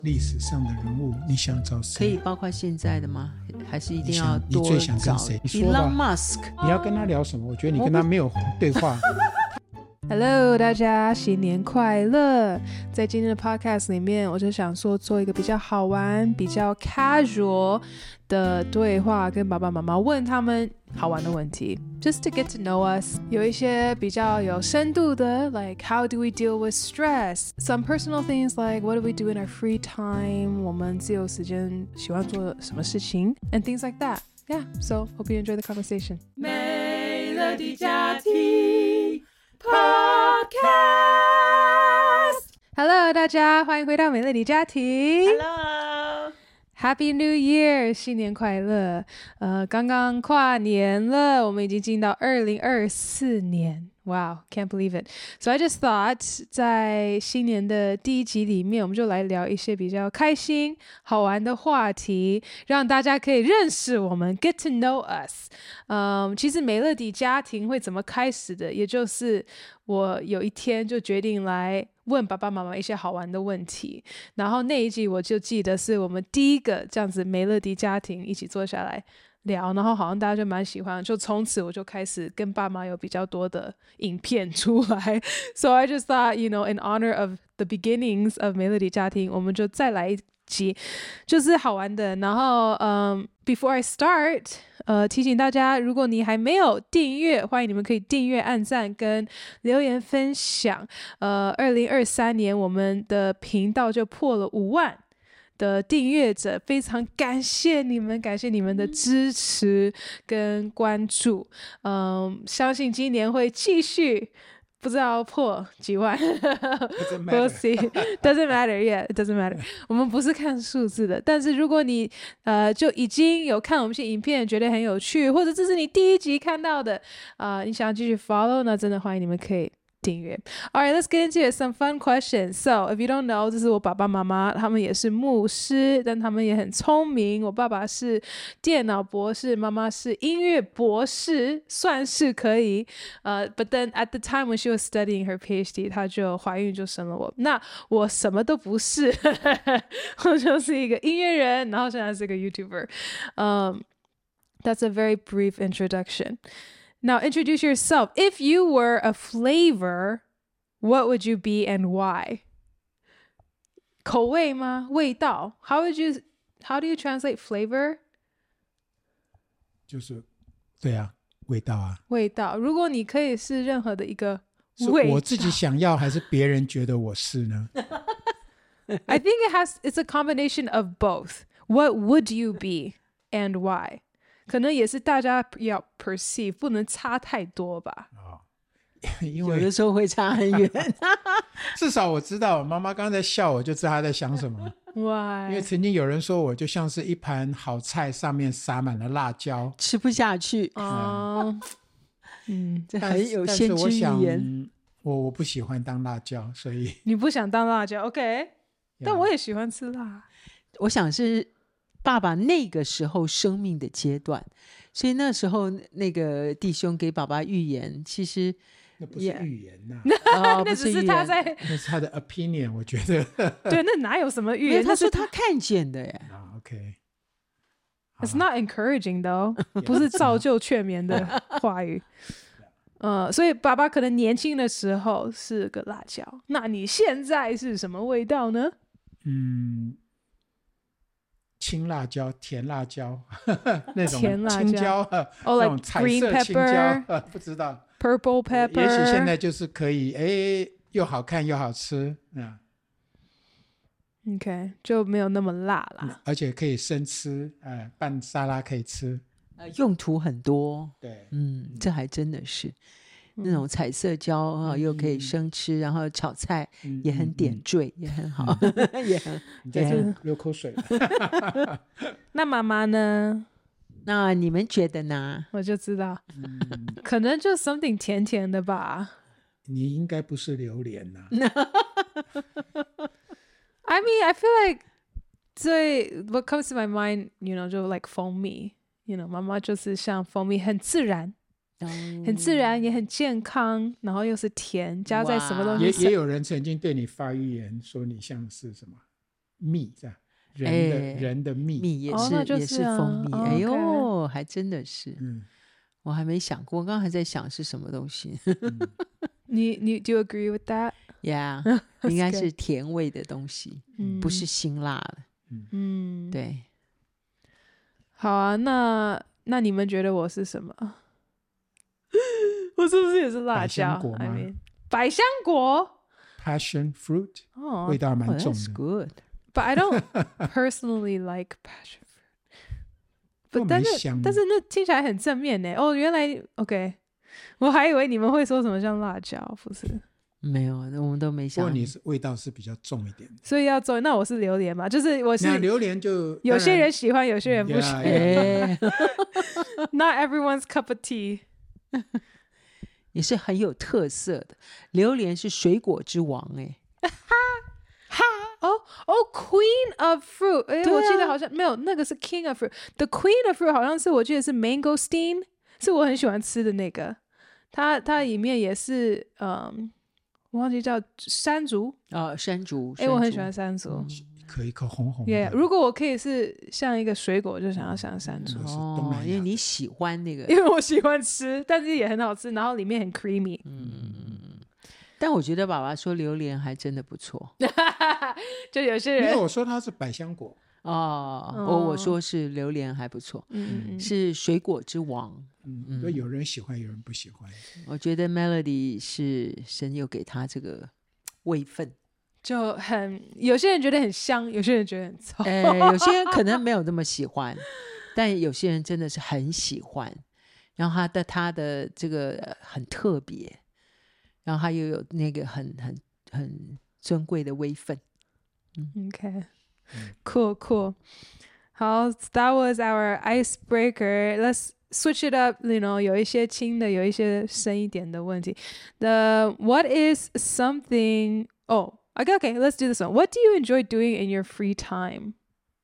歷史上的人物，你想找誰？ 可以包括現在的嗎？還是一定要多找？ 你最想跟誰？你說吧。 Elon Musk， 你要跟他聊什麼？我覺得你跟他沒有對話。 Hello， 大家新年快樂！在今天的 podcast 裡面，我就想說做一個比較好玩、比較 casual 的對話，跟爸爸媽媽問他們好玩的問題 ，just to get to know us。有一些比較有深度的 ，like how do we deal with stress? Some personal things like what do we do in our free time? 我們自由時間喜歡做什麼事情 ？And things like that. Yeah, so hope you enjoy the conversation. 美樂的家庭 Podcast。Hello， 大家歡迎回到美樂的家庭。Hello。Happy New Year， 新年快樂！剛剛跨年了，我們已經進到2024年。Wow, can't believe it. So I just thought， 在新年的第一集裡面，我們就來聊一些比較開心、好玩的話題，讓大家可以認識我們 ，get to know us。其實美樂的家庭會怎麼開始的，也就是我有一天就決定來問爸爸媽媽一些好玩的問題，然後那一集我就記得是我們第一個這樣子美樂的家庭一起坐下來聊，然後好像大家就蠻喜歡，就從此我就開始跟爸媽有比較多的影片出來。So I just thought, you know, in honor of the beginnings of 美樂的家庭，我們就再來一集，就是好玩的。然後before I start，提醒大家，如果你還沒有訂閱，歡迎你們可以訂閱、按讚跟留言分享。2023年我們的頻道就破了5萬的訂閱者，非常感謝你們，感謝你們的支持跟關注。相信今年會繼續，不知道破幾萬。We'll see. Doesn't matter. Yeah, it doesn't matter. 我們不是看數字的，但是如果你就已經有看我們一些影片，覺得很有趣，或者這是你第一集看到的，你想要繼續 follow， 那真的歡迎你們可以訂閱。Alright, let's get into it. Some fun questions. So, if you don't know, 這是我爸爸媽媽，他們也是牧師，但他們也很聰明。我爸爸是電腦博士，媽媽是音樂博士，算是可以。But then at the time when she was studying her PhD， 她就懷孕就生了我。那我什麼都不是，我就是一個音樂人，然後現在是個 YouTuber. That's a very brief introduction.Now introduce yourself. If you were a flavor, what would you be and why? 口味嗎？味道 how do you translate flavor? 就是对啊，味道啊。 味道。如果你可以是任何的一個味道， 我自己想要還是別人覺得我是呢？ I think it's a combination of both. What would you be and why?可能也是大家要 perceive， 不能差太多吧。 因為有的時候會差很遠。 至少我知道，媽媽剛剛在笑，我就知道她在想什麼。 Why？ 因為曾經有人說我就像是一盤好菜，上面撒滿了辣椒， 吃不下去。這很有先知預言。 我不喜歡當辣椒，所以你不想當辣椒 ，OK？ 但我也喜歡吃辣。 我想是爸爸那個時候生命的階段，所以那時候那個弟兄給爸爸預言，其實那不是預言吶， 那只是他在， 那是他的 opinion， 我覺得。 對，那哪有什麼預言？ 他說他看見的耶。 OK。It's not encouraging though， 不是造就勸勉的話語。所以爸爸可能年輕的時候是個辣椒，那你現在是什麼味道呢？ 青辣椒、甜辣椒，那種甜辣椒青椒，那種彩色青椒，不知道 ，purple pepper， 也許現在就是可以，又好看又好吃 ，OK， 就沒有那麼辣啦， 而且可以生吃，拌沙拉可以吃， 用途很多， 對， 這還真的是。那種彩色椒又可以生吃，然後炒菜也很點綴，也很好，也很流口水。 那媽媽呢？ 那你們覺得呢？ 我就知道，可能就 something 甜甜的吧。 你應該不是榴蓮吶。 I mean, I feel like what comes to my mind, you know, 就 like 蜂蜜 ，you know， 媽媽就是像蜂蜜，很自然。很自然也很健康，然後又是甜，加在什麼東西上。也有人曾經對你發預言說你像是什麼蜜這樣，人的蜜， 蜜也是也是蜂蜜。哎呦， okay 還真的是，我還沒想過，我剛刚還在想是什麼東西。 你 do you agree with that? Yeah， 應該是甜味的東西，不是辛辣的。對。 好啊，那你們覺得我是什麼？我是不是也是辣椒？百香果 Passion fruit， 味道蠻重的。 That's good. But I don't personally like passion fruit. 但是那聽起來很正面呢。哦，原來 OK， 我還以為你們會說什麼像辣椒，不是？沒有， 我們都沒想。 不過你是味道是比較重一点， 所以要重。那我是榴蓮嘛？就是我是榴蓮就有些人喜歡，有些人不喜歡。Not everyone's cup of tea。 也是很有特色的。榴蓮是水果之王哎。 Queen of fruit， 我記得好像沒有，那個是 King of fruit。The Queen of fruit 好像是我記得是 mangosteen， 是我很喜歡吃的那個。它裡面也是我忘記叫山竹山竹。 我很喜歡山竹， 一顆紅紅的。 如果我可以是像一個水果，我就想要像山竹。 因為你喜歡那個， 因為我喜歡吃，但是也很好吃，然後裡面很 creamy。 但我覺得爸爸說榴蓮還真的不錯。 就有些人， 因為我說它是百香果。 我說是榴蓮還不錯，是水果之王。 有人喜歡，有人不喜歡。 我覺得 Melody 是神有給他這個位分， 就有些人覺得很香，有些人覺得很臭。 有些人可能沒有那麼喜歡，但有些人真的是很喜歡。然後他的這個很特別，然後他又有那個很尊貴的位分。 Cool. 好 that was our icebreaker. Let's switch it up, 有一些輕的，有一些深一點的問題。What is something... Okay, let's do this one. What do you enjoy doing in your free time?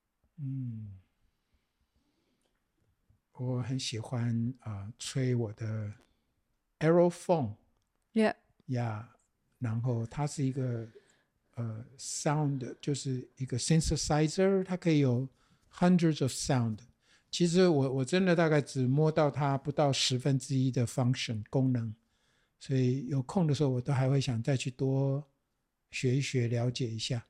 我很喜歡吹我的 Aerophone. Yeah. 然後它是一個sound， 就是一個 synthesizer， 它可以有 hundreds of sound。其實我真的大概只摸到它不到1/10的 function 功能，所以有空的時候我都還會想再去多學一學，了解一下。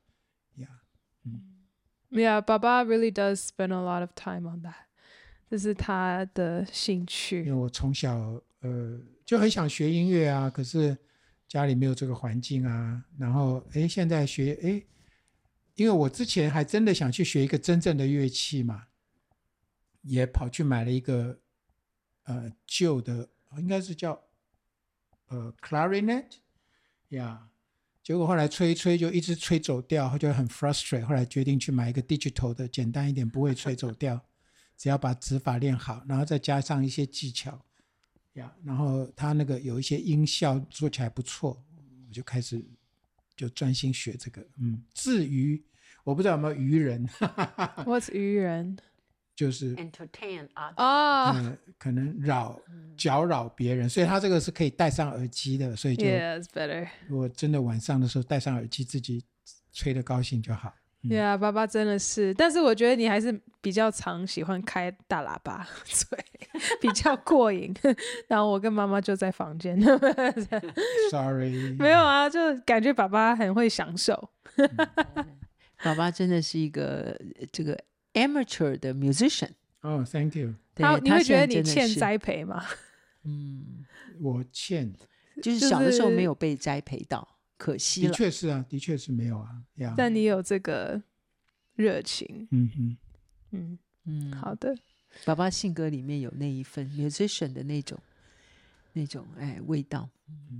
Yeah, 爸爸 really does spend a lot of time on that。這是他的興趣。 因為我從小就很想學音樂啊，可是家裡沒有這個環境啊，然後現在學因為我之前還真的想去學一個真正的樂器嘛，也跑去買了一個舊的，應該是叫clarinet 呀，結果後來吹一吹就一直吹走調，就很 frustrate， 後來決定去買一個 digital 的，簡單一點，不會吹走調，只要把指法練好，然後再加上一些技巧。然後他那個有一些音效做起來不錯，我就開始就專心學這個。至於我不知道有沒有愚人。 What's 愚人？ 就是 entertain 可能擾別人，所以他這個是可以戴上耳機的，所以就 Yeah, it's better. 如果真的晚上的時候戴上耳機，自己吹得高興就好。 Yeah, 爸爸真的是，但是我覺得你還是比較常喜歡開大喇叭吹，比較過癮。然後我跟媽媽就在房間。 Sorry， 沒有啊，就感覺爸爸很會享受。 爸爸真的是一個這個 amateur 的 musician。 Thank you。 你會覺得你欠栽培嗎？ 我欠， 就是小的時候沒有被栽培到。可惜了， 的確是啊，的確是沒有啊。 但你有這個熱情。好的。 爸爸性格裡面有那一份 musician 的那種味道。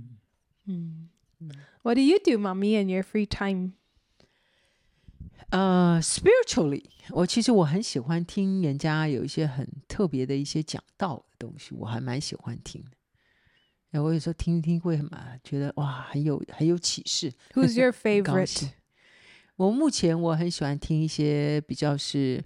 What do you do, Mommy, in your free time? Spiritually， 其實我很喜歡聽人家有一些很特別的一些講道的東西，我還蠻喜歡聽的。我有時候聽一聽會覺得哇，很有啟示。 Who's your favorite? 我目前我很喜歡聽一些比較是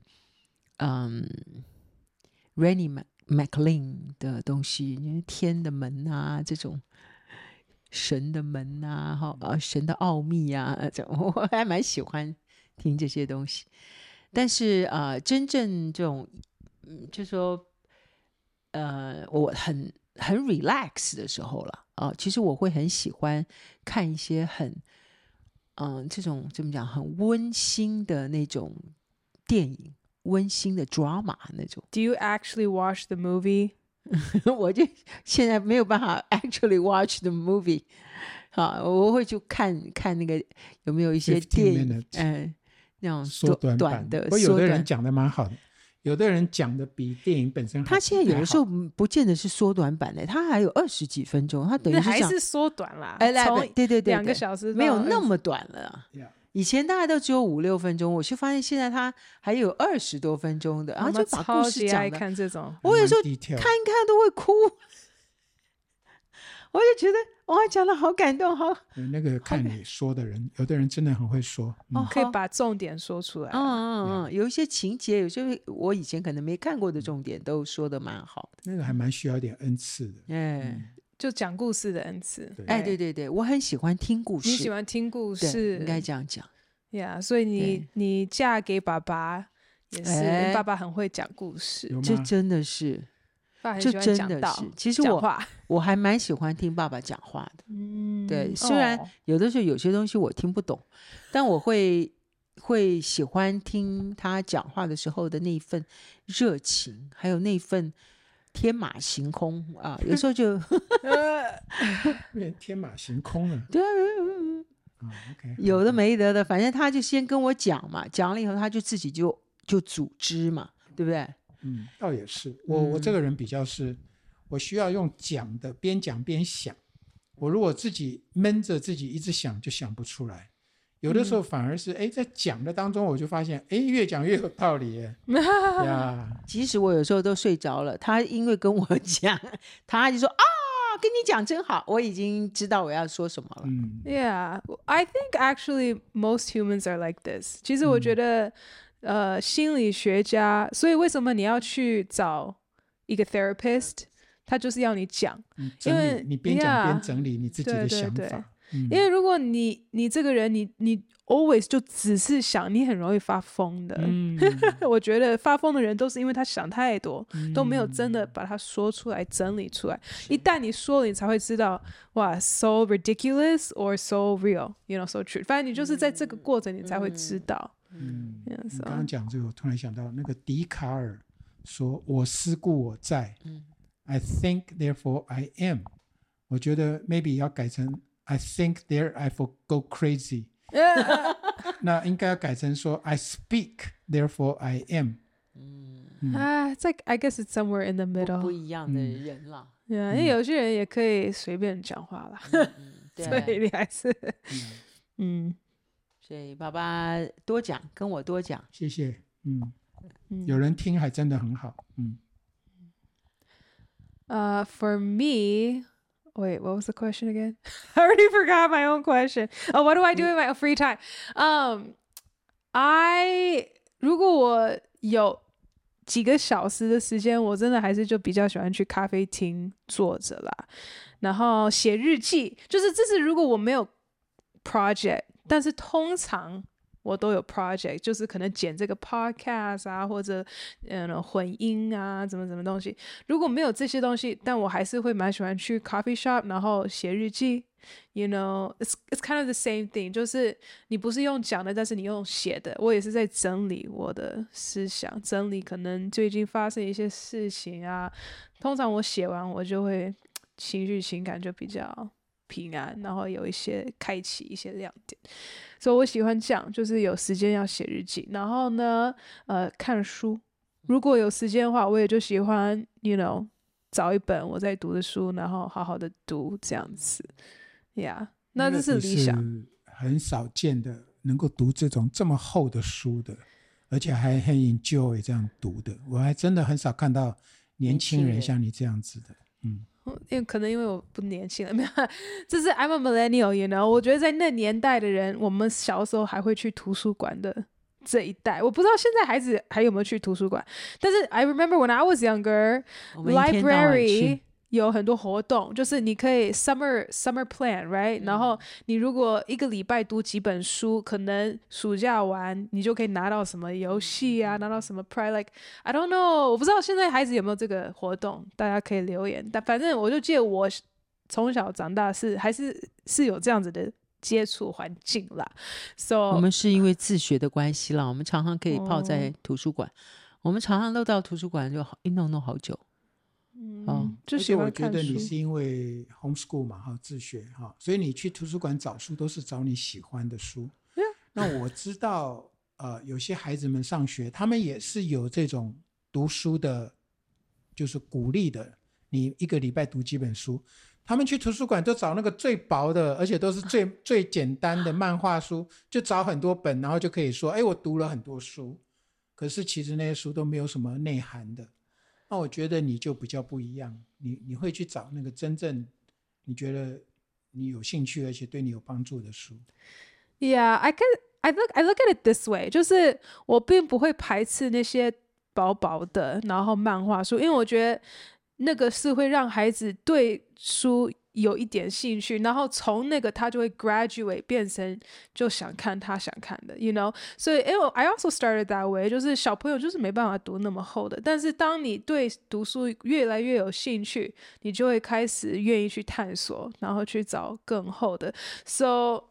Randy McLean 的東西，天的門啊，這種神的門啊，神的奧秘啊，我還蠻喜歡聽這些東西。但是真正這種就說我很 relax 的時候了其實我會很喜歡看一些很這種怎麼講很溫馨的那種電影，溫馨的 drama 那種。 Do you actually watch the movie? 我就現在沒有辦法 actually watch the movie 我會去看那個有沒有一些電影那種縮短的。不過有的人講的蠻好的，有的人講的比電影本身還好。他現在有的時候不見得是縮短版的，他還有20幾分鐘，他等於是還是縮短啦。 对 2個小時沒有那麼短了。以前大概都只有5-6分鐘，我就發現現在他還有20多分鐘的，然后就把故事講的。 看這種， 我有時候看一看都會哭。我就覺得哇，講的好感動，好。 那個看你說的人，有的人真的很會說， 可以把重點說出來。 有一些情節，有些我以前可能沒看過的重點，都說的蠻好的。 那個還蠻需要一點恩賜的， 就講故事的恩賜。 對，我很喜歡聽故事。 你喜歡聽故事，應該這樣講。 所以你嫁給爸爸也是，爸爸很會講故事， 這真的是。就真的是，其實我還蠻喜歡聽爸爸講話的。對，雖然有的時候有些東西我聽不懂，但我會喜歡聽他講話的時候的那份熱情，還有那份天馬行空有時候就天馬行空了。 對有的沒得的，反正他就先跟我講嘛，講了以後他就自己就組織嘛，對不對？ 倒也是，我這個人比較是，我需要用講的，邊講邊想。我如果自己悶着自己一直想，就想不出來。有的時候反而是在講的當中，我就發現越講越有道理即使我有時候都睡着了，他因為跟我講，他就說跟你講真好，我已經知道我要說什麼了。 Yeah, I think actually most humans are like this. 其實我覺得心理學家，所以為什麼你要去找一個 therapist？ 他就是要你講，因為你邊講邊整理你自己的想法。因為如果你這個人你 always 就只是想，你很容易發瘋的。我覺得發瘋的人都是因為他想太多，都沒有真的把它說出來整理出來。一旦你說了，你才會知道哇 so ridiculous or so real, you know, so true。反正你就是在這個過程你才會知道。 你剛剛講這個，我突然想到那個笛卡爾說我思故我在，I think therefore I am。我覺得 maybe 要改成 I think therefore go crazy。那應該要改成說 I speak therefore I am。 It's like I guess it's somewhere in the middle。 不一樣的人啦。 因為有些人也可以隨便講話啦。所以你還是所以爸爸多講，跟我多講， 謝謝。有人聽還真的很好。 For me, wait, what was the question again? I already forgot my own question. Oh, what do I do in my free time? 如果我有幾個小時的時間，我真的還是就比較喜歡去咖啡廳坐着啦，然後寫日記。就是這是如果我沒有 project。但是通常我都有 project， 就是可能剪這個 podcast 啊，或者混音啊，怎麼東西。如果沒有這些東西，但我還是會蠻喜歡去 coffee shop， 然後寫日記。You know, it's kind of the same thing， 就是你不是用講的，但是你用寫的。我也是在整理我的思想，整理可能最近發生一些事情啊。通常我寫完，我就會情感就比較平安，然後有一些開啟一些亮點，所以我喜歡這樣，就是有時間要寫日記，然後呢，看書。如果有時間的話，我也就喜歡 ，you know， 找一本我在讀的書，然後好好的讀這樣子。Yeah， 那這是理想。 是很少見的能夠讀這麼厚的書的，而且還很 enjoy 這樣讀的，我還真的很少看到年輕人像你這樣子的。 可能因為我不年輕了，沒有，這是 I'm a millennial, you know。我覺得在那年代的人，我們小時候還會去圖書館的這一代，我不知道現在孩子還有沒有去圖書館。但是 I remember when I was younger, library, 有很多活動，就是你可以 summer plan right、然後你如果一個禮拜讀幾本書，可能暑假完你就可以拿到什麼遊戲啊，拿到什麼 prize like I don't know， 我不知道現在孩子有沒有這個活動，大家可以留言。但反正我就記得我從小長大還是有這樣子的接觸環境啦。So 我們是因為自學的關係啦，我們常常可以泡在圖書館，我們常常都到圖書館就一弄好久。 就喜歡看書。 我覺得你是因為 homeschool 嘛，自學哈，所以你去圖書館找書都是找你喜歡的書。那我知道有些孩子們上学，他们也是有這種讀書的，就是鼓勵的，你一個禮拜讀幾本書。他們去圖書館都找那個最薄的，而且都是最簡單的漫畫書，就找很多本，然後就可以說，我讀了很多書。可是其實那些書都沒有什麼內涵的。那我覺得你就比較不一樣，你會去找那個真正你覺得你有興趣而且對你有幫助的書。 Yeah, I look at it this way， 就是我並不會排斥那些薄薄的然後漫畫書，因為我覺得那個是會讓孩子對書有一點興趣，然後從那個他就會 graduate 變成就想看他想看的 you know， 所以I also started that way， 就是小朋友就是沒辦法讀那麼厚的，但是當你對讀書越來越有興趣，你就會開始願意去探索，然後去找更厚的。 So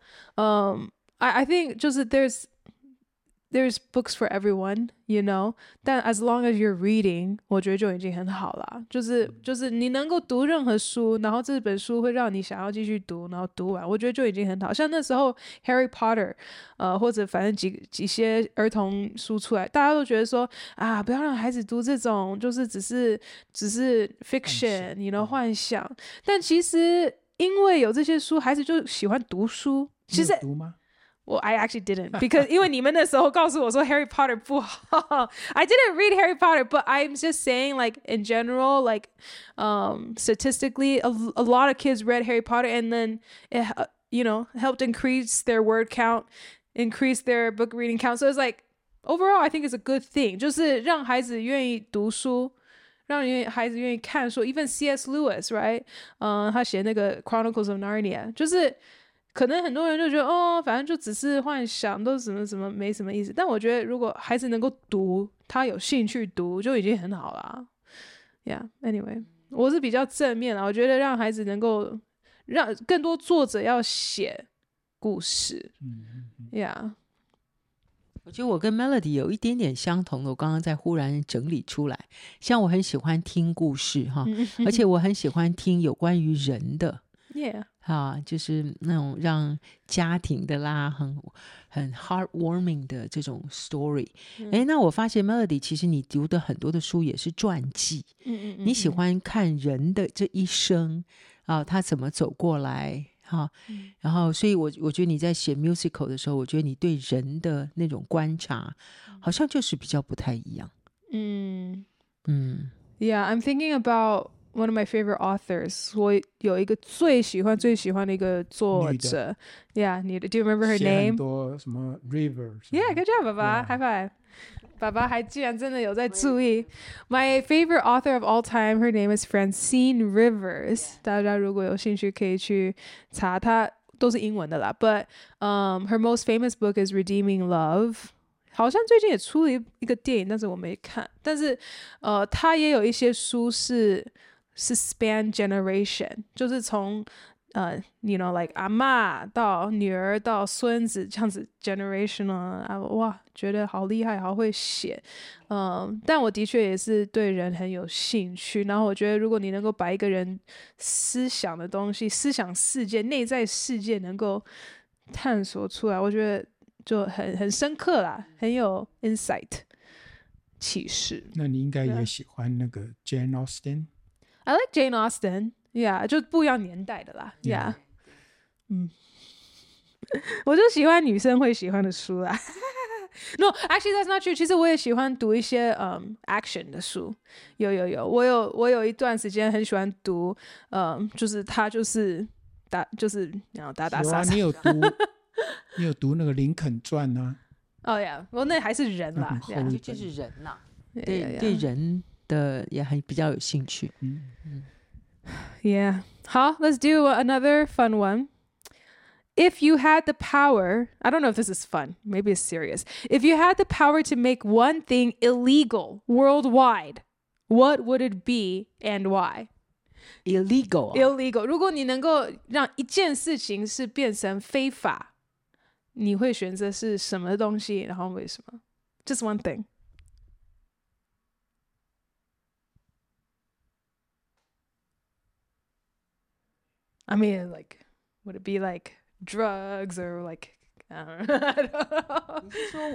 I think 就是 there's books for everyone, you know， 但 as long as you're reading 我覺得就已經很好了，就是你能夠讀任何書，然後這本書會讓你想要繼續讀，然後讀完，我覺得就已經很好。像那時候 Harry Potter 或者反正幾些兒童書出來，大家都覺得說不要讓孩子讀這種就是只是 fiction you know 幻想，但其實因為有這些書，孩子就喜歡讀書。其實讀嗎 ？Well, I actually didn't because 因為你們那時候告訴我說 Harry Potter 不好I didn't read Harry Potter, but I'm just saying like in general, like statistically, a lot of kids read Harry Potter and then it, you know, helped increase their word count, increase their book reading count. So it's like overall, I think it's a good thing. 就是讓孩子願意讀書，讓孩子願意看書。Even C.S. Lewis, right? 他寫那個 Chronicles of Narnia， 就是可能很多人就覺得反正就只是幻想，都什麼什麼沒什麼意思。但我覺得如果孩子能夠讀，他有興趣讀，就已經很好了。Yeah, anyway， 我是比較正面啦，我覺得讓孩子能夠讓更多作者要寫故事。Yeah， 我覺得我跟 Melody 有一點點相同的，我剛剛在忽然整理出來。像我很喜歡聽故事哈，而且我很喜歡聽有關於人的。 Yeah， 就是那種讓家庭的啦，很 heartwarming 的這種 story。那我發現 Melody 其實你讀的很多的書也是傳記。你喜歡看人的這一生他怎麼走過來然後所以我覺得你在寫 musical 的時候，我覺得你對人的那種觀察好像就是比較不太一樣。 Yeah, I'm thinking about one of my favorite authors. 我有一個最喜歡的一個作者。Yeah, do you remember her name? 寫很多什麼 River。 Yeah, good job, 爸爸 High five. 爸爸還居然真的有在注意。My favorite author of all time, her name is Francine Rivers. 大家如果有興趣可以去查，她都是英文的啦。But her most famous book is Redeeming Love. 好像最近也出了一個電影，但是我沒看。但是她也有一些書是 span generation， 就是從you know like 阿嬷到女兒到孫子這樣子 generational 哇，覺得好厲害，好會寫。但我的確也是對人很有興趣，然後我覺得如果你能夠把一個人思想的東西、思想世界、內在世界能夠探索出來，我覺得就很深刻啦，很有 insight 啟示。 那你應該也喜歡那個 Jane Austen。I like Jane Austen。Yeah， 就不一樣年代的啦。Yeah， 我就喜歡女生會喜歡的書啦。No, actually that's not true. 其實我也喜歡讀一些action 的書。有，我有一段時間很喜歡讀，就是他就是打打殺殺。 你有讀那個林肯傳啊 ？Yeah， 我那還是人啦， 就是人啦。對人的也比較有興趣。 Yeah. 好 let's do another fun one. If you had the power, I don't know if this is fun, maybe it's serious. If you had the power to make one thing illegal worldwide, what would it be and why? illegal Illegal. 如果你能夠讓一件事情是变成非法，你會選擇是什麼東西，然後為什麼？ Just one thing. I mean, like, would it be like drugs or like, I don't know. 你是说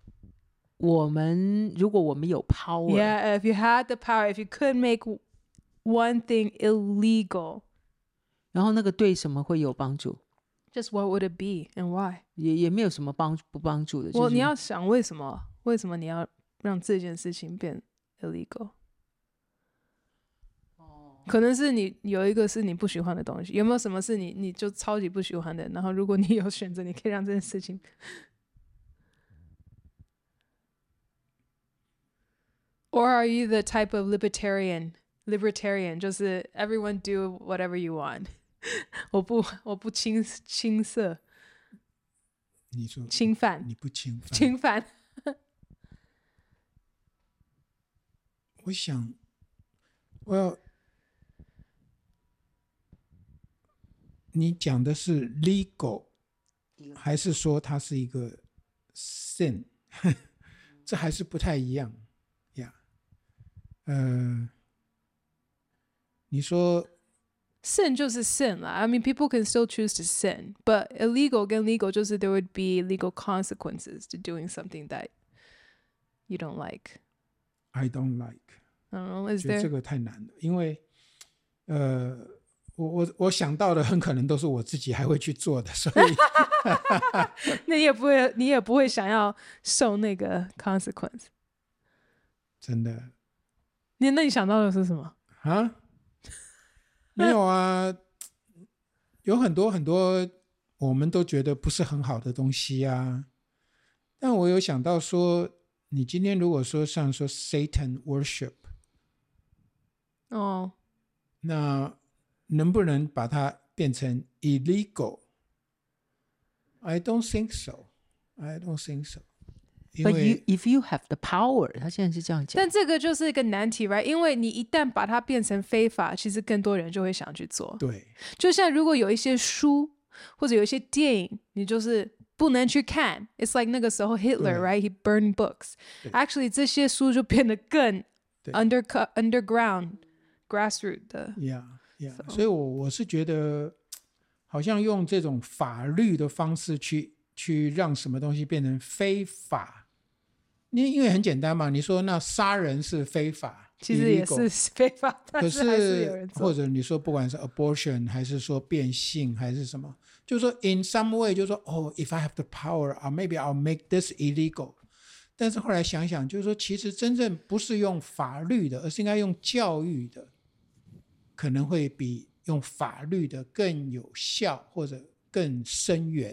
如果我们有 power Yeah, if you had the power, if you could make one thing illegal, 然后那个对什麼會有幫助 just what would it be and why? 也沒有什麼不幫助的， 你要想為什麼你要讓這件事情變 illegal？可能是你有一個是你不喜歡的東西，有沒有什麼是你就超級不喜歡的？然後如果你有選擇，你可以讓這件事情。Or are you the type of libertarian? Libertarian 就是 everyone do whatever you want 。我不侵涉。 你說侵犯？ 你不侵犯？ 侵犯。 我想，你講的是 legal， 還是說它是一個 sin？ 這還是不太一樣呀。你說 sin 就是 sin 啦。I mean, people can still choose to sin, but illegal 跟 legal 就是 there would be legal consequences to doing something that you don't like. I don't like. I don't know, is 覺得 there? 這個太難了，因為我想到的很可能都是我自己還會去做的，所以那你也不會想要受那個 consequence。 真的。 那你想到的是什麼？ 啊？沒有啊，有很多很多我們都覺得不是很好的東西啊。但我有想到說，你今天如果說像說 Satan worship， 哦， 那能不能把它變成 illegal？ I don't think so. I don't think so. But if you have the power， 他現在是這樣講。 但這個就是一個難題 ，right？ 因為你一旦把它變成非法，其實更多人就會想去做。 對， 就像如果有一些書或者有一些電影，你就是不能去看。It's like 那個時候 Hitler， right？ He burned books. Actually， 這些書就變得更 underground、grassroot 的。 Yeah. 所以我是覺得，好像用這種法律的方式去讓什麼東西變成非法。因為很簡單嘛，你說那殺人是非法， 其實也是非法，但是還是有人做。 或者你說不管是 abortion 還是說變性還是什麼，就是說 in some way 就是說if I have the power, maybe I'll make this illegal。但是後來想想，就是說其實真正不是用法律的，而是應該用教育的，可能會比用法律的更有效或者更深遠。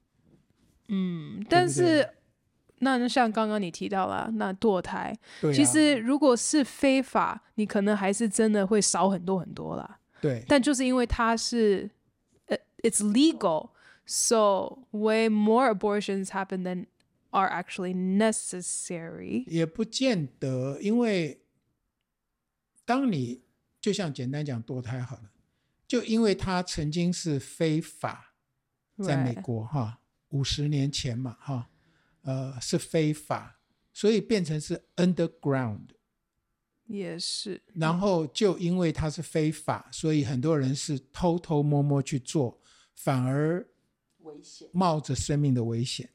但是那像剛剛你提到了那墮胎，其實如果是非法，你可能還是真的會少很多很多啦。 對， 但就是因為它是it's legal, so way more abortions happen than are actually necessary。也不見得，因為當你就像簡單講墮胎好了，就因為它曾經是非法，在美國哈，50年前嘛哈。是非法，所以變成是 underground， 也是。 然後就因為它是非法，所以很多人是偷偷摸摸去做，反而冒着生命的危險。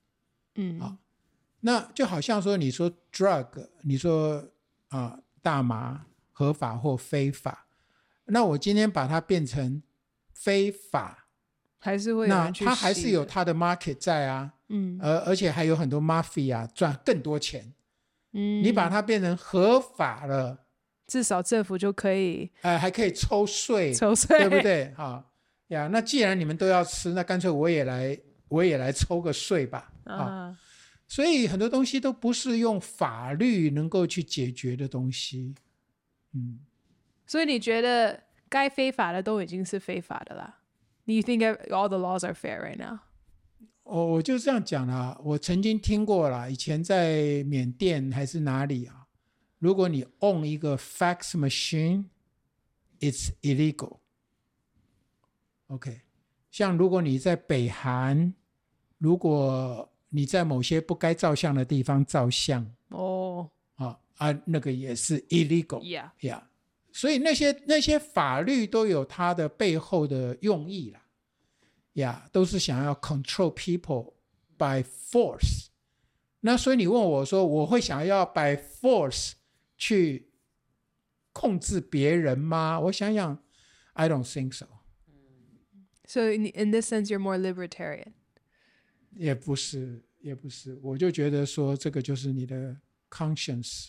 那就好像說，你說 drug， 你說大麻合法或非法，那我今天把它變成非法， 還是會有人去吸的， 那它還是有它的 market 在啊。而且還有很多 mafia 賺更多錢。你把它變成合法了， 至少政府就可以還可以抽稅，對不對？那既然你們都要吃，那乾脆我也來抽個稅吧。所以很多東西都不是用法律能夠去解決的東西。 所以你覺得該非法的都已經是非法的啦。Do you think all the laws are fair right now? 我就這樣講啦，我曾經聽過啦，以前在緬甸還是哪裡啊，如果你 own 一個 fax machine it's illegal. OK， 像如果你在北韓，如果你在某些不該照相的地方照相，那個也是 illegal。Yeah， 所以那些法律都有它的背後的用意啦。都是想要 control people by force。那所以你問我說，我會想要 by force 去控制別人嗎？我想想 I don't think so. So in this sense you're more libertarian? 也不是，我就覺得說這個就是你的 conscience。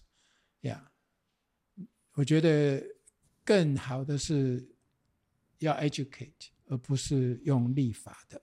我覺得更好的是要 educate， 而不是用立法的。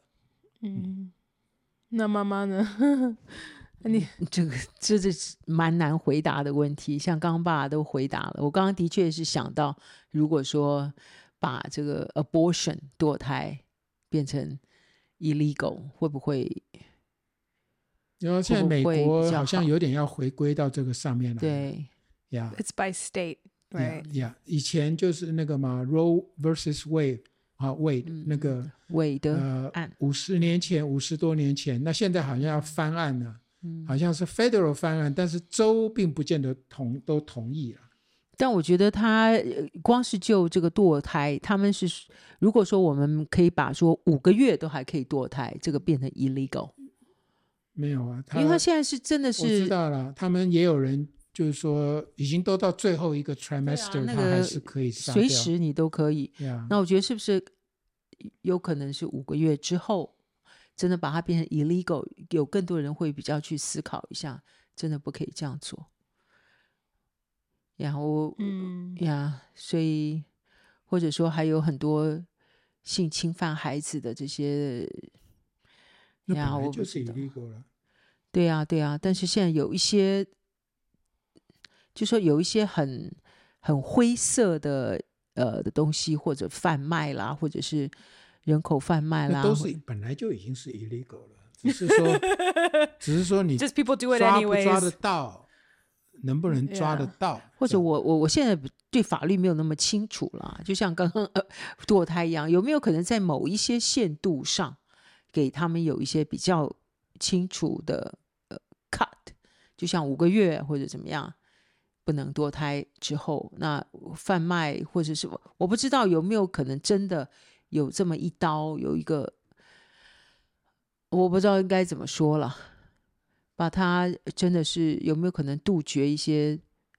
那媽媽呢？你这是蠻難回答的問題，像剛剛爸爸都回答了。我剛剛的確是想到，如果說把這個 abortion 墮胎變成 illegal， 會不會？ 然後現在美國好像有點要回歸到這個上面來。 對，It's by state, right? 以前就是那個嘛 ，Roe versus Wade。Wade 那個 Wade 的案 50多年前，那現在好像要翻案了，好像是 federal 翻案，但是州並不見得都同意了。 但我覺得他光是就這個墮胎，他們是如果說我們可以把說5個月都還可以墮胎，這個變成 illegal。 沒有啊， 因為他現在是真的是， 我知道了，他們也有人就是說已經都到最後一個 trimester，他還是可以殺掉， 隨時你都可以。那我覺得是不是有可能是5個月之後真的把它變成 illegal， 有更多人会比較去思考一下，真的不可以這樣做。然後所以或者說還有很多性侵犯孩子的這些， 那本來就是 illegal 了。 對啊，但是現在有一些就說有一些很灰色的東西，或者販賣啦，或者是人口販賣啦， 都是本來就已經是 illegal 了，只是說你 Just people do it 抓 anyways， 不抓得到，能不能抓得到， 或者我現在對法律沒有那麼清楚啦，就像剛剛墮胎一樣，有沒有可能在某一些限度上給他們有一些比較清楚的cut， 就像5個月或者怎麼樣不能墮胎之後，那販賣或者是我不知道有沒有可能真的有這麼一刀，有一個我不知道應該怎麼說了，把它真的是有沒有可能杜絕一些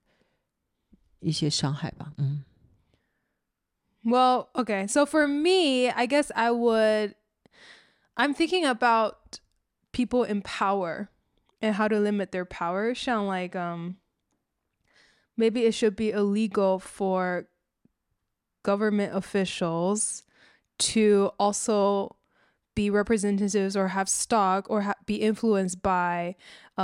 傷害吧。 Well, okay, so for me, I guess I'm thinking about people in power and how to limit their power. 像 like maybe it should be illegal for government officials to also be representatives or have stock or be influenced by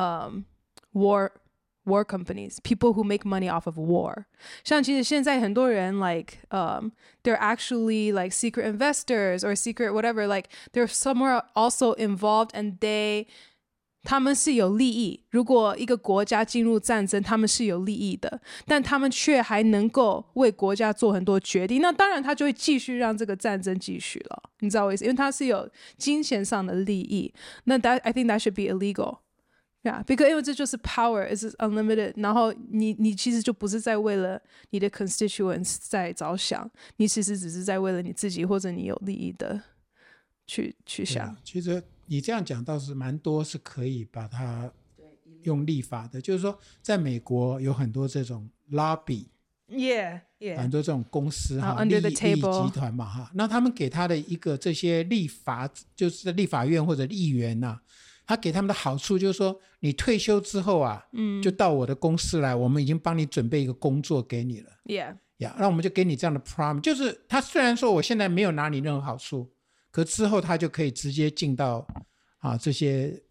war companies, people who make money off of war. 像其實現在很多人 like they're actually like secret investors or secret whatever, like they're somewhere also involved and他們是有利益，如果一個國家進入戰爭，他們是有利益的，但他們卻還能夠為國家做很多決定，那當然他就會繼續讓這個戰爭繼續了，你知道我意思？因為他是有金錢上的利益，那 I think that should be illegal. Yeah, because 因為這就是 power is unlimited， 然後你其實就不是在為了你的 constituents 在着想，你其實只是在為了你自己或者你有利益的去想。 其實你這樣講倒是蠻多是可以把它用立法的，就是說在美國有很多這種 lobby， 很多這種公司利益集團嘛，那他們給他的一個這些立法，就是立法院或者議員啊，他給他們的好處就是說你退休之後啊，就到我的公司來，我們已經幫你準備一個工作給你了，那我們就給你這樣的 promise， 就是他雖然說我現在沒有拿你任何好處，可之後他就可以直接進到這些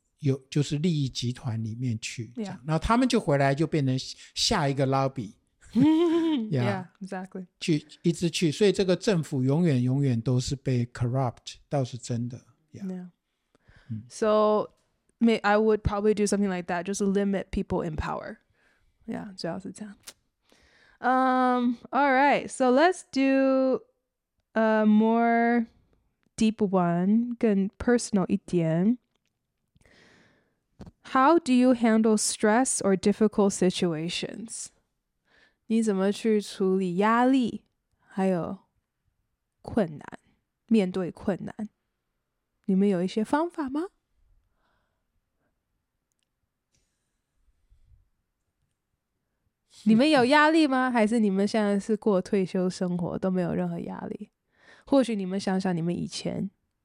就是利益集團裡面去，然後他們就回來就變成下一個 lobby Yeah, exactly. 一直去，所以这個政府永遠都是被 corrupt， 倒是真的。 Yeah. So I would probably do something like that, just limit people in power. Yeah, 主要是這樣。All right, so let's do a more deep one, 更 personal 一點。How do you handle stress or difficult situations? 你怎麼去處理壓力，還有困難，面對困難？你們有一些方法嗎？你們有壓力嗎？還是你們現在是過退休生活，都沒有任何壓力？或許你們想想，你們以前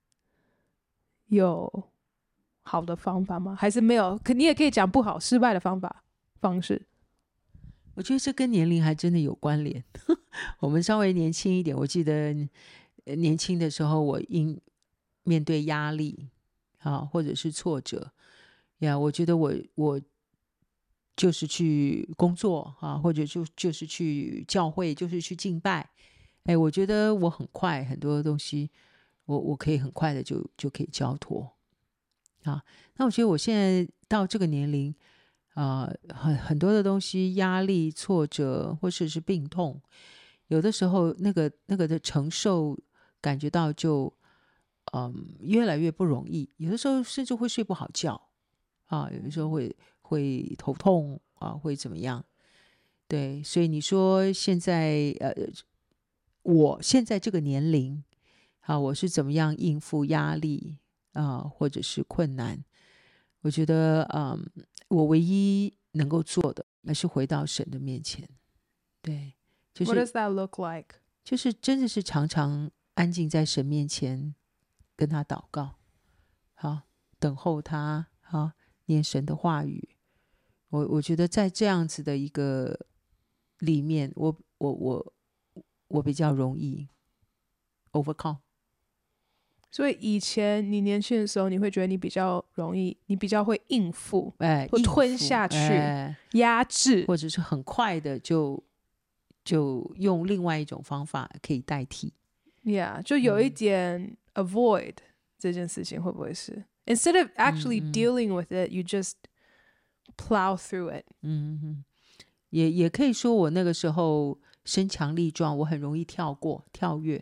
有好的方法嗎？還是沒有？你也可以講不好、失敗的方式。 我覺得這跟年齡還真的有關聯。我們稍微年輕一點，我記得年輕的時候，我面對壓力或者是挫折呀，我覺得我就是去工作或者就是去教會，就是去敬拜。我覺得我很快很多東西，我可以很快的就可以交託那我覺得我現在到這個年齡很多的東西，壓力、挫折或者是病痛，有的時候那個的承受感覺到就越來越不容易，有的時候甚至會睡不好覺有的時候會頭痛會怎麼樣？對，所以你說現在我現在這個年齡我是怎麼樣應付壓力或者是困難？我覺得我唯一能夠做的還是回到神的面前。對，就是 What does that look like？ 就是真的是常常安靜在神面前跟他禱告，等候他，念神的話語。我覺得在這樣子的一個裡面，我比較容易 overcome。 所以以前你年輕的時候，你會覺得你比較容易，你比較會應付，會吞下去，壓制， 或者是很快的就用另外一種方法可以代替。 Yeah， 就有一點 avoid 這件事情會不會是 ？Instead of actually dealing with it, you just plow through it。 也可以說我那個時候身強力壯，我很容易跳躍。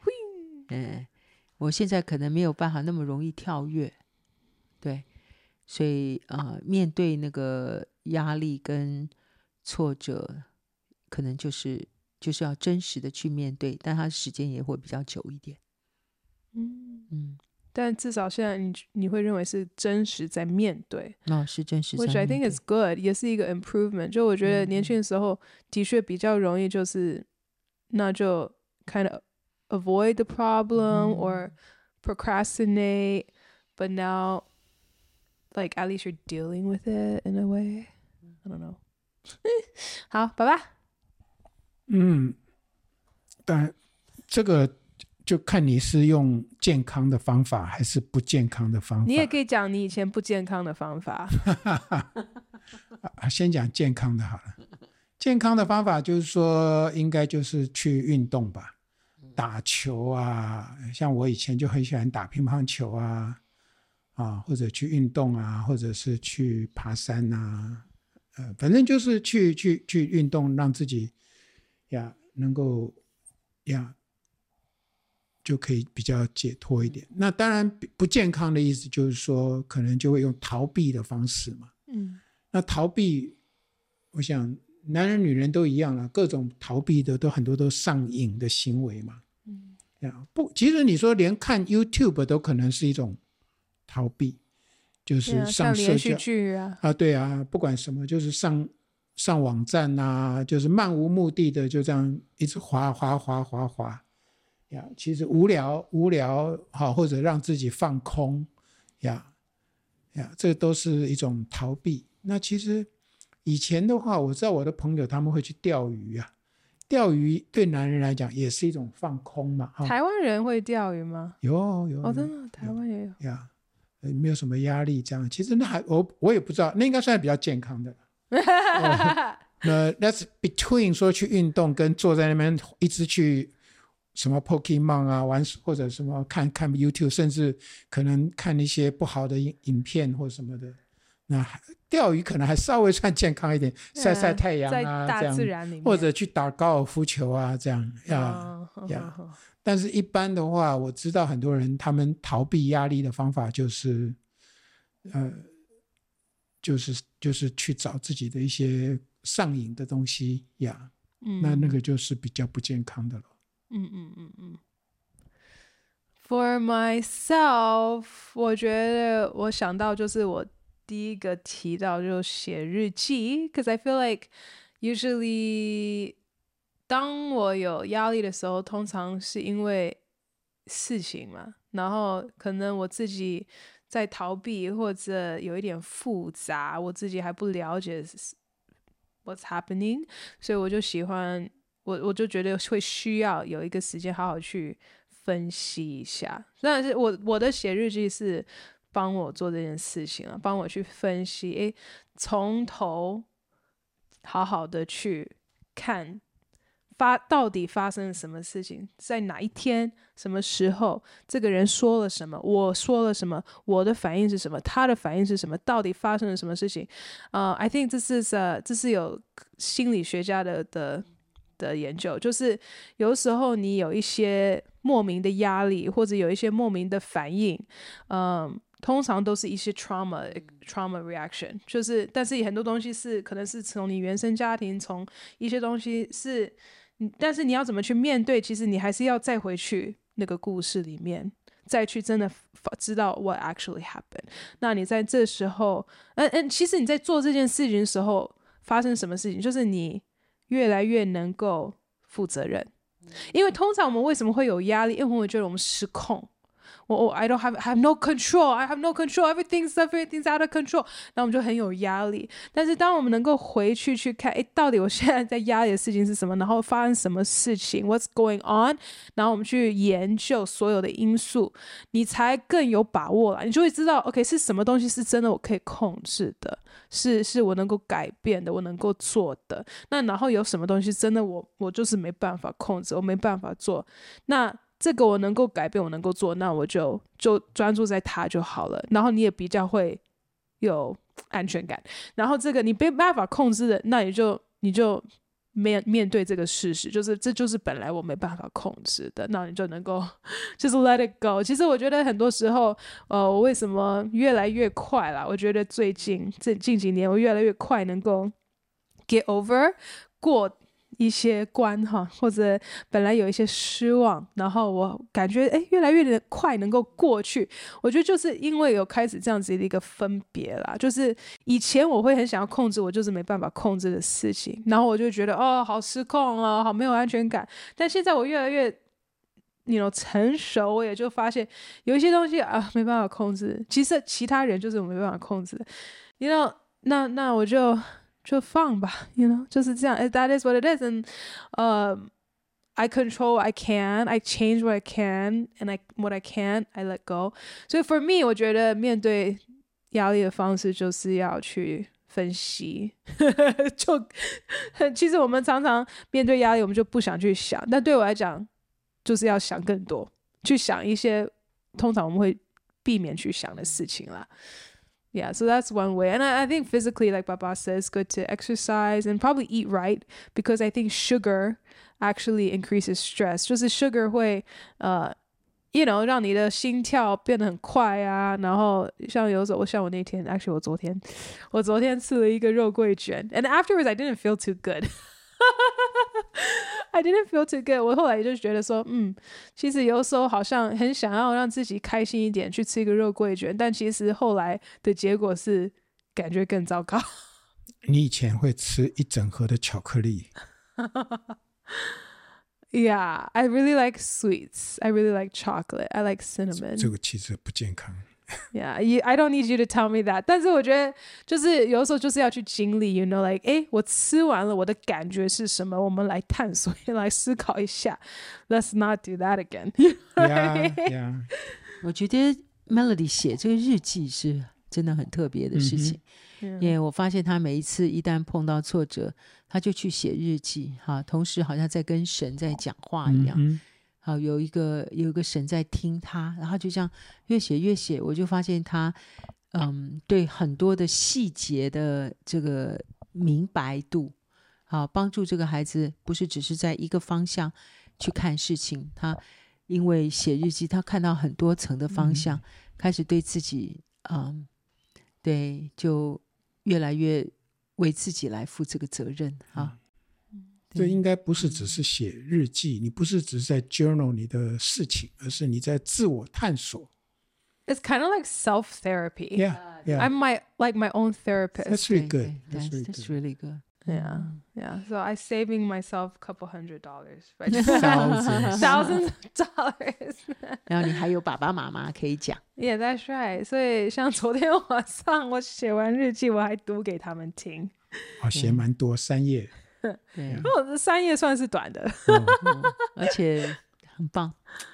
我現在可能沒有辦法那麼容易跳躍。對，所以面對那個壓力跟挫折，可能就是要真實的去面對，但它時間也會比較久一點。 但至少現在你會認為是真實在面對， 是真實在面對 ，which I think is good， 也是一個 improvement。就我覺得年輕的時候的確比較容易，就是那就 kind of avoid the problem or procrastinate, but now like at least you're dealing with it in a way. I don't know. 好，爸爸。 但這個就看你是用健康的方法還是不健康的方法。 你也可以講你以前不健康的方法。 先講健康的好了。健康的方法就是說，應該就是去運動吧，打球啊，像我以前就很喜歡打乒乓球或者去運動或者是去爬山反正就是去運動，讓自己能夠就可以比較解脫一點。那當然不健康的意思就是說，可能就會用逃避的方式嘛。那逃避，我想男人女人都一樣了，各種逃避的很多都上癮的行為嘛。其實你說連看 YouTube 都可能是一種逃避，就是上社交，像連續劇對不管什麼，就是上網站就是漫無目的的就這樣一直滑其實無聊或者讓自己放空這都是一種逃避。那其實以前的話，我知道我的朋友他們會去釣魚釣魚對男人來講也是一種放空嘛。 台灣人會釣魚嗎？ 有真的，台灣也有沒有什麼壓力這樣。其實那我也不知道，那應該算是比較健康的 That's between 說去運動跟坐在那邊一直去什麼 Pokemon 啊玩，或者什麼看 YouTube， 甚至可能看一些不好的影片或什麼的。那釣魚可能還稍微算健康一點，曬曬太陽啊， 在大自然裡面， 或者去打高爾夫球啊，這樣但是一般的話，我知道很多人他們逃避壓力的方法就是去找自己的一些上癮的東西呀，那個就是比較不健康的了。 For myself， 我覺得我想到就是我第一個提到就寫日記 ，because I feel like usually 當我有壓力的時候，通常是因為事情嘛，然後可能我自己在逃避或者有一點複雜，我自己還不了解 what's happening， 所以我就喜歡我就覺得會需要有一個時間好好去分析一下。但是我的寫日記是幫我做這件事情啊，幫我去分析，從頭好好的去看到底發生了什麼事情，在哪一天什麼時候，這個人說了什麼，我說了什麼，我的反應是什麼，他的反應是什麼，到底發生了什麼事情。I think 這是有心理學家的研究，就是有時候你有一些莫名的壓力，或者有一些莫名的反應，通常都是一些 trauma reaction， 就是但是很多東西是可能是從你原生家庭，從一些東西是，但是你要怎麼去面對，其實你還是要再回去那個故事裡面，再去真的知道 what actually happened。那你在這時候其實你在做這件事情的時候發生什麼事情，就是你越來越能夠負責任。因為通常我們為什麼會有壓力，因為我們覺得我們失控，I have no control, I have no control, everything's out of control， 那我們就很有壓力。但是當我們能夠回去看，到底我現在在壓力的事情是什麼，然後發生什麼事情 what's going on， 然後我們去研究所有的因素，你才更有把握了。你就會知道 OK 是什麼東西是真的我可以控制的，是我能夠改變的，我能夠做的。那然后有什麼東西真的我就是沒辦法控制，我沒辦法做，那這個我能夠改變，我能夠做，那我就專注在它就好了。然後你也比較會有安全感。然後這個你沒辦法控制的，那你就面對這個事實，就是這就是本來我沒辦法控制的，那你就能夠就是 let it go。其實我覺得很多時候，我為什麼越來越快啦？我覺得近幾年我越來越快能夠 get over 過一些關哈，或者本來有一些失望，然後我感覺越來越快能夠過去。我覺得就是因為有開始這樣子的一個分別啦，就是以前我會很想要控制我就是沒辦法控制的事情，然後我就覺得好失控啊，好沒有安全感。但現在我越來越成熟，我也就發現有一些東西沒辦法控制，其實其他人就是我沒辦法控制的那我就放吧就是這樣 that is what it is and I control what I can, I change what I can, and what I can't, I let go. So for me 我覺得面對壓力的方式就是要去分析其實我們常常面對壓力我們就不想去想，但對我來講就是要想更多，去想一些通常我們會避免去想的事情啦。Yeah, so that's one way. And I think physically, like Baba says, good to exercise and probably eat right, because I think sugar actually increases stress. 就是 sugar 会讓你的心跳變得很快啊，然後像我那天 actually 我昨天吃了一個肉桂卷 and afterwards I didn't feel too good. I didn't feel too good. 我後來就覺得說其實有時候好像很想要讓自己開心一點，去吃一個肉桂卷，但其實後來的結果是感覺更糟糕。 你以前會吃一整盒的巧克力 Yeah, I really like sweets. I really like chocolate. I like cinnamon. 這個其實不健康。 Yeah, I don't need you to tell me that. 但是我覺得就是有時候就是要去經歷 like 我吃完了我的感覺是什麼，我們來探索來思考一下。Let's not do that again. Yeah. 我覺得 Melody 寫這個日記是真的很特別的事情， 我發現他每一次一旦碰到挫折，他就去寫日記，同時好像在跟神在講話一樣。好，有一個神在聽他，然後就這樣越寫越寫，我就發現他對很多的細節的這個明白度，好，幫助這個孩子不是只是在一個方向去看事情，他因為寫日記，他看到很多層的方向，開始對自己對，就越來越為自己來負這個責任啊。 這應該不是只是寫日記，你不是只是在 journal 你的事情，而是你在自我探索。 It's kind of like self-therapy. Yeah. I'm my own therapist. That's really good. That's really good. Yeah. So I'm saving myself a couple $100, right? Thousands of dollars. 然後你還有爸爸媽媽可以講。 Yeah, that's right. 所以像昨天晚上我寫完日記，我還讀給他們聽。 寫蠻多，3頁。 對， 我這3頁算是短的， 而且很棒。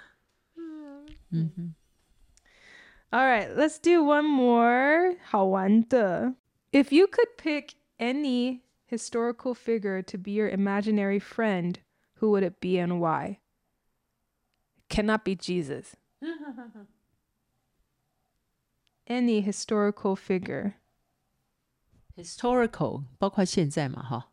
All right, let's do one more 好玩的。If you could pick any historical figure to be your imaginary friend, who would it be and why? Cannot be Jesus. Any historical figure. Historical 包括現在嘛，哈。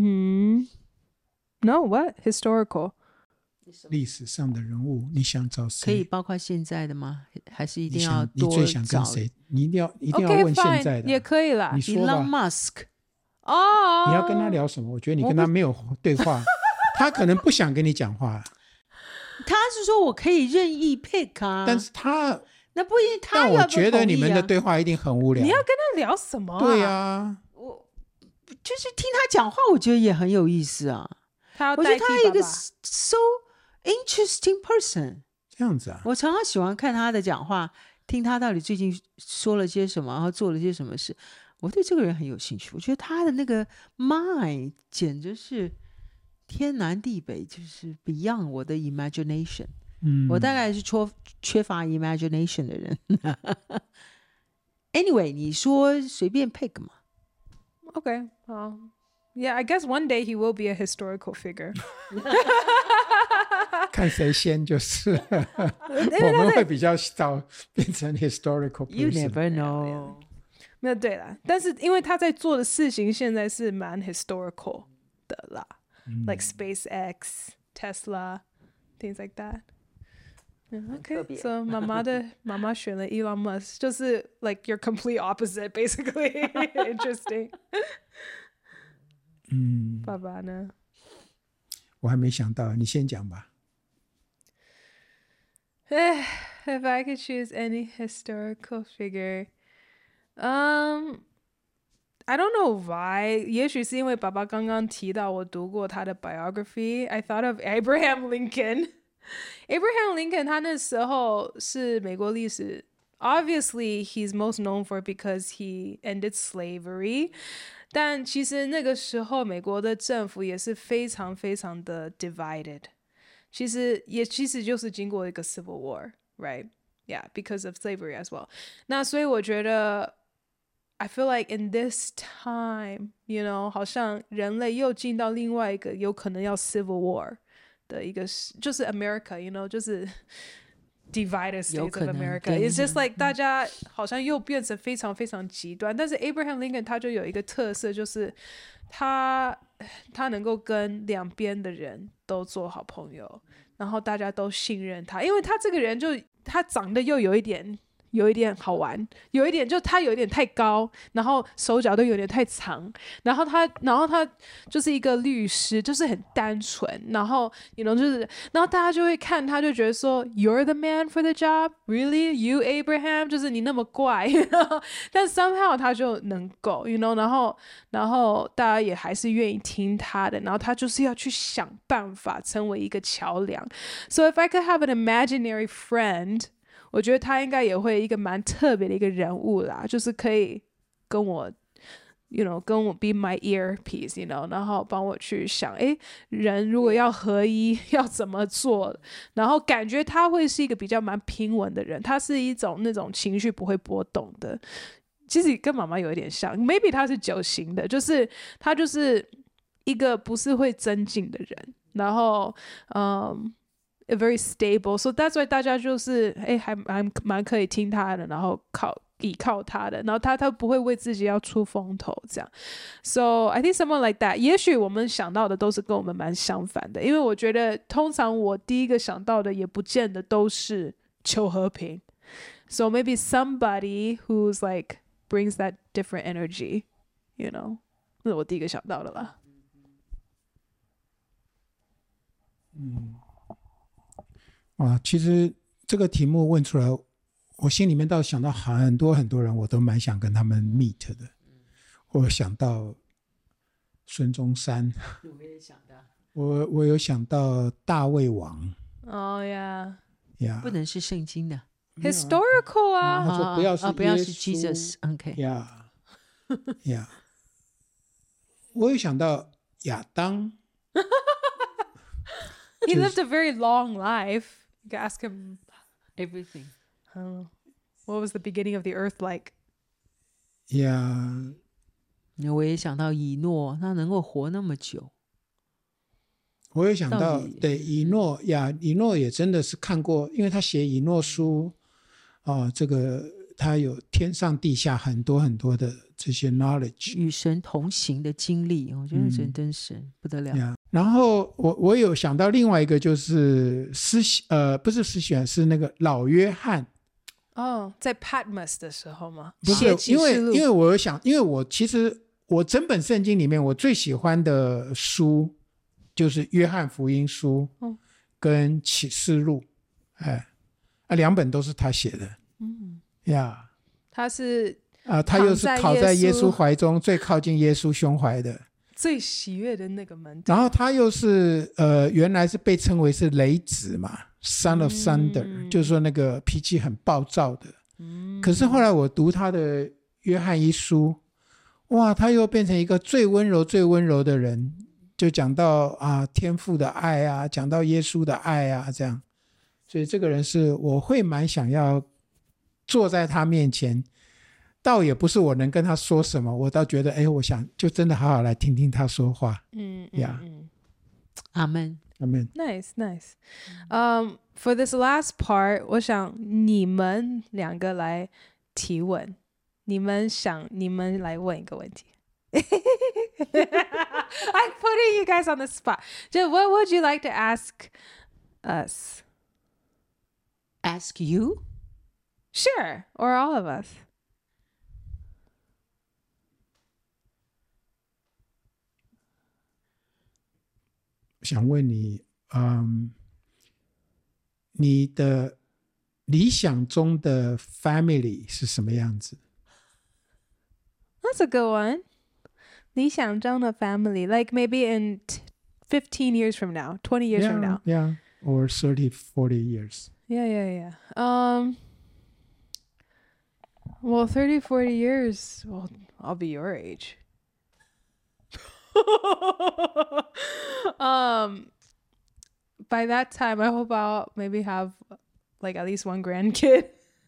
No, what? Historical. 歷史上的人物，你想找誰？ 可以包括現在的嗎？還是一定要多找？ 你最想跟誰？你一定要問現在的。 也可以啦。 你說吧。 Elon Musk。 你要跟他聊什麼？我覺得你跟他沒有對話，他可能不想跟你講話。 他是說我可以任意 pick 啊， 但是他那不一定，他但我覺得你們的对話一定很無聊。 你要跟他聊什麼？ 對啊， 我就是聽他講話，我覺得也很有意思啊。我覺得他一個 so interesting person。 這樣子啊， 我常常喜歡看他的講話，聽他到底最近說了些什麼，然後做了些什麼事。我對這個人很有興趣，我覺得他的那個 mind 簡直是天南地北，就是 beyond 我的 imagination。我大概是缺乏 imagination 的人。Anyway， 你說隨便 pick 嘛。 Okay, yeah, I guess one day he will be a historical figure. 看誰先就是我們會比較早變成 historical person. You never know. 沒有對啦，但是因為他在做的事情現在是蠻 historical 的啦，like SpaceX, Tesla, things like that. Okay, so 媽媽選了 Elon Musk， 就是 like your complete opposite, basically. Interesting. 爸爸呢？ 我還沒想到，你先講吧。 If I could choose any historical figure, I don't know why. 也許是因為爸爸剛剛提到我讀過他的 biography. I thought of Abraham Lincoln. Abraham Lincoln 他那時候是美國歷史 Obviously, he's most known for it because he ended slavery. 但其實那個時候美國的政府也是非常非常的 divided. 其實就是經過一個 civil war, right? Yeah, because of slavery as well. 那所以我覺得 I feel like in this time, you know, 好像人類又進到另外一個有可能要 civil war 的一個，就是 America, you know, 就是 divided states of America. It's just like 大家好像又變成非常非常極端。但是 Abraham Lincoln 他就有一個特色，就是他能夠跟兩邊的人都做好朋友，然後大家都信任他，因為他這個人就他長得又有一點好玩，有一點就他有一點太高，然後手腳都有點太長，然後他就是一個律師，就是很單純，然後 you know 就是，然後大家就會看他，就覺得說 You're the man for the job, really? You Abraham? 就是你那麼怪，但 somehow 他就能夠 you know 然後大家也還是願意聽他的，然後他就是要去想辦法成為一個橋梁。So if I could have an imaginary friend, 我覺得他應該也會一個蠻特別的一個人物啦，就是可以跟我 you know 跟我 be my earpiece, you know 然後幫我去想人如果要合一要怎麼做，然後感覺他會是一個比較蠻平穩的人，他是一種那種情緒不會波動的， 其實跟媽媽有一點像 ，maybe 他是9型的，就是他就是一個不是會增進的人，然後very stable， so that's why 大家就是還蠻可以聽他的，然後依靠他的，然後他不會為自己要出風頭這樣。So I think someone like that， 也許我們想到的都是跟我們蠻相反的，因為我覺得通常我第一個想到的也不見得都是求和平。So maybe somebody who's like brings that different energy, you know， 那是我第一個想到的啦。 其實這個題目問出來，我心裡面倒想到很多很多人，我都蠻想跟他們 meet 的。我想到孫中山，我也想到，我有想到大衛王。 Oh yeah， 不能是聖經的 ，historical 啊。 他說不要是 Jesus，OK， yeah， 我有想到亞當。 He lived a very long life. You can ask him everything. What was the beginning of the earth like? Yeah. 我也想到以諾，他能夠活那麼久。 我也想到，對以諾呀，以諾也真的是看過，因為他寫以諾書，這個他有天上地下很多很多的這些 knowledge， 與神同行的經歷，我覺得神真神不得了。 然後我有想到另外一個就是不是施洗約翰，是那個老約翰。 在 Patmos 的時候嗎？ 不是，因為我有想，因為其實我整本聖經裡面我最喜歡的書就是約翰福音書跟啟示錄，兩本都是他寫的。 他是他又是靠在耶穌懷中最靠近耶穌胸懷的。 最喜悅的那個門徒， 然後他又是原來是被稱為是雷子嘛， Son of Thunder，就是說那個脾氣很暴躁的。可是後來我讀他的約翰一書，哇，他又變成一個最溫柔最溫柔的人，就講到天父的愛啊，講到耶穌的愛啊，這樣。所以這個人是我會蠻想要坐在他面前，倒也不是我能跟他說什麼，我倒覺得我想就真的好好來聽聽他說話。 阿們。 Nice. For this last part， 我想你們兩個來提問，你們來問一個問題。I'm putting you guys on the spot. What would you like to ask us? Ask you? Sure, or all of us. 想問你，你的理想中的 family 是什麼樣子？ That's a good one. 理想中的 family, like maybe in 15 years from now, 20 years from now. Yeah, or 30, 40 years. Yeah. Well, 30, 40 years, well, I'll be your age. By that time, I hope I'll maybe have like at least one grandkid.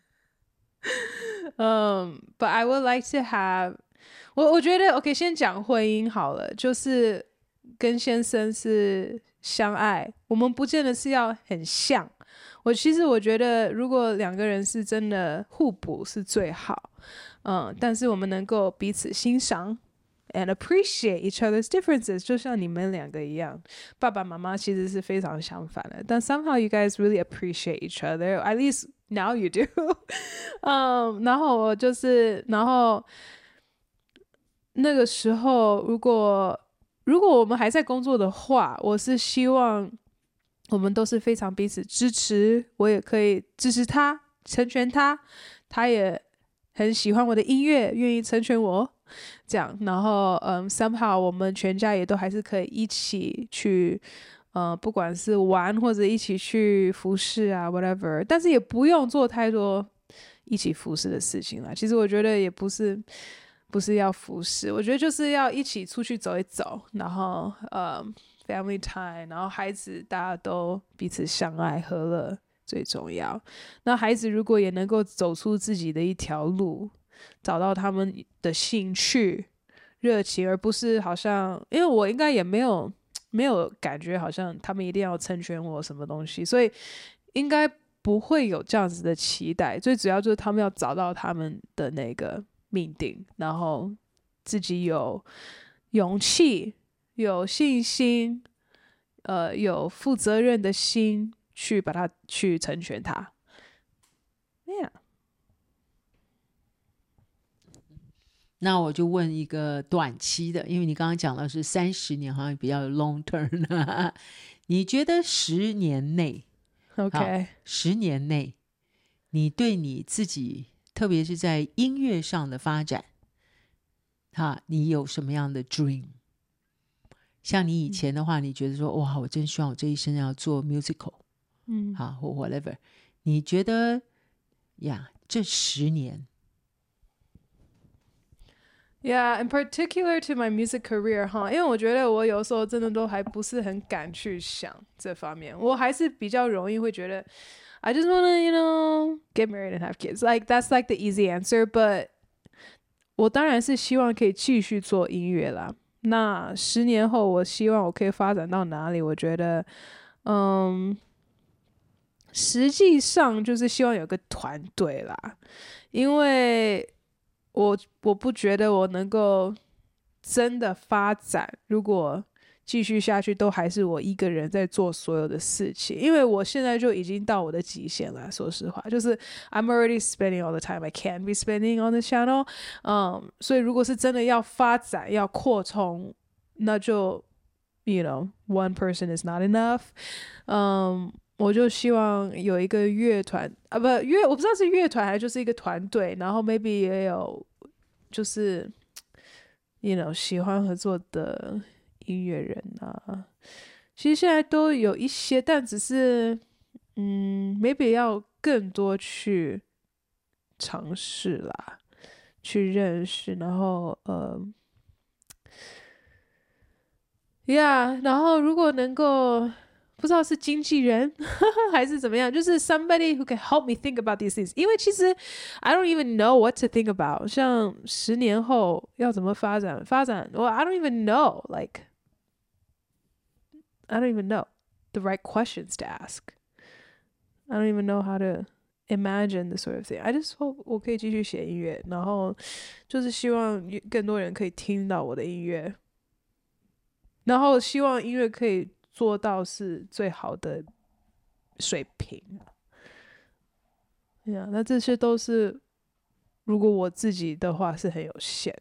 But I would like to have, 我覺得 OK， 先講婚姻好了，就是跟先生是相愛，我們不見得是要很像。其實我覺得如果兩個人是真的互補是最好，但是我們能夠彼此欣賞 and appreciate each other's differences， 就像你們兩個一樣，爸爸媽媽其實是非常相反的，但 somehow you guys really appreciate each other, at least now you do. 然後那個時候如果我們還在工作的話，我是希望我們都是非常彼此支持，我也可以支持他，成全他，他也很喜歡我的音樂，願意成全我，這樣。然後somehow 我們全家也都還是可以一起去不管是玩或者一起去服侍啊 whatever， 但是也不用做太多一起服侍的事情啦。其實我覺得也不是要服侍，我覺得就是要一起出去走一走，然後family time， 然後孩子大家都彼此相愛和樂最重要。那孩子如果也能夠走出自己的一條路， 找到他們的興趣熱情，而不是好像因為我應該也沒有感覺好像他們一定要成全我什麼東西，所以應該不會有這樣子的期待。最主要就是他们要找到他們的那個命定，然後自己有勇氣、有信心、有負責任的心去把它去成全它。Yeah. 那我就問一個短期的，因為你剛剛講的是30年，好像比較 long term 你覺得10年內 OK 10年內你對你自己特別是在音樂上的發展你有什麼樣的 dream？ 像你以前的話你覺得說哇，我真希望我這一生要做 musical 或 whatever， 你覺得這10年 Yeah, in particular to my music career 因為我覺得我有時候真的都還不是很敢去想這方面，我還是比較容易會覺得 I just wanna, get married and have kids. Like, that's like the easy answer, but 我當然是希望可以繼續做音樂啦。那10年後我希望我可以發展到哪裡？我覺得實際上就是希望有個團隊啦，因為我不覺得我能夠真的發展，如果繼續下去都還是我一個人在做所有的事情，因為我現在就已經到我的極限了，說實話，就是 I'm already spending all the time I can be spending on the channel， 所以如果是真的要發展要擴充，那就 one person is not enough， 我就希望有一個樂團我不知道是樂團還是就是一個團隊，然後 maybe 也有就是喜歡合作的音樂人啊，其實現在都有一些，但只是maybe 要更多去嘗試啦，去認識，然後然後如果能夠不知道是經紀人還是怎麼樣，就是 somebody who can help me think about these things， 因為其實 I don't even know what to think about， 像10年後要怎麼發展well, I don't even know, like I don't even know the right questions to ask. I don't even know how to imagine the sort of thing. I just hope 我可以繼續寫音樂，然後就是希望更多人可以聽到我的音樂，然後希望音樂可以做到是最好的水平。那這些都是如果我自己的話是很有限。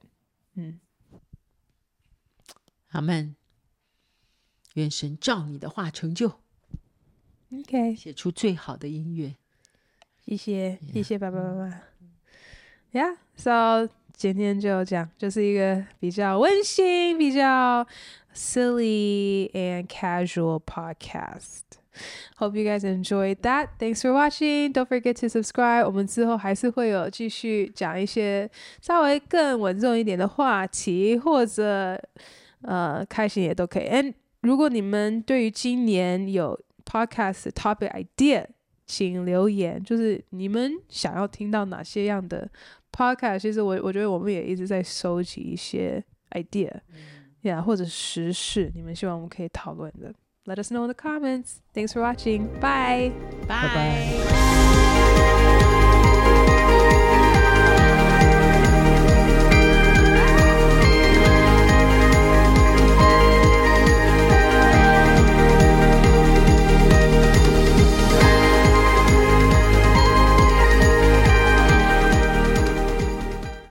阿們，願神照你的話成就。 OK， 寫出最好的音樂。謝謝爸爸媽媽。So 今天就這樣，就是一個比較溫馨、比較 silly and casual podcast. Hope you guys enjoyed that. Thanks for watching. Don't forget to subscribe. 我們之後還是會有繼續講一些稍微更穩重一點的話題，或者開心也都可以。And 如果你們對於今年有 podcast topic idea， 請留言，就是你們想要聽到哪些樣的 podcast。其實我覺得我們也一直在收集一些 idea，或者時事，你們希望我們可以討論的。Let us know in the comments. Thanks for watching. Bye. Bye. Bye.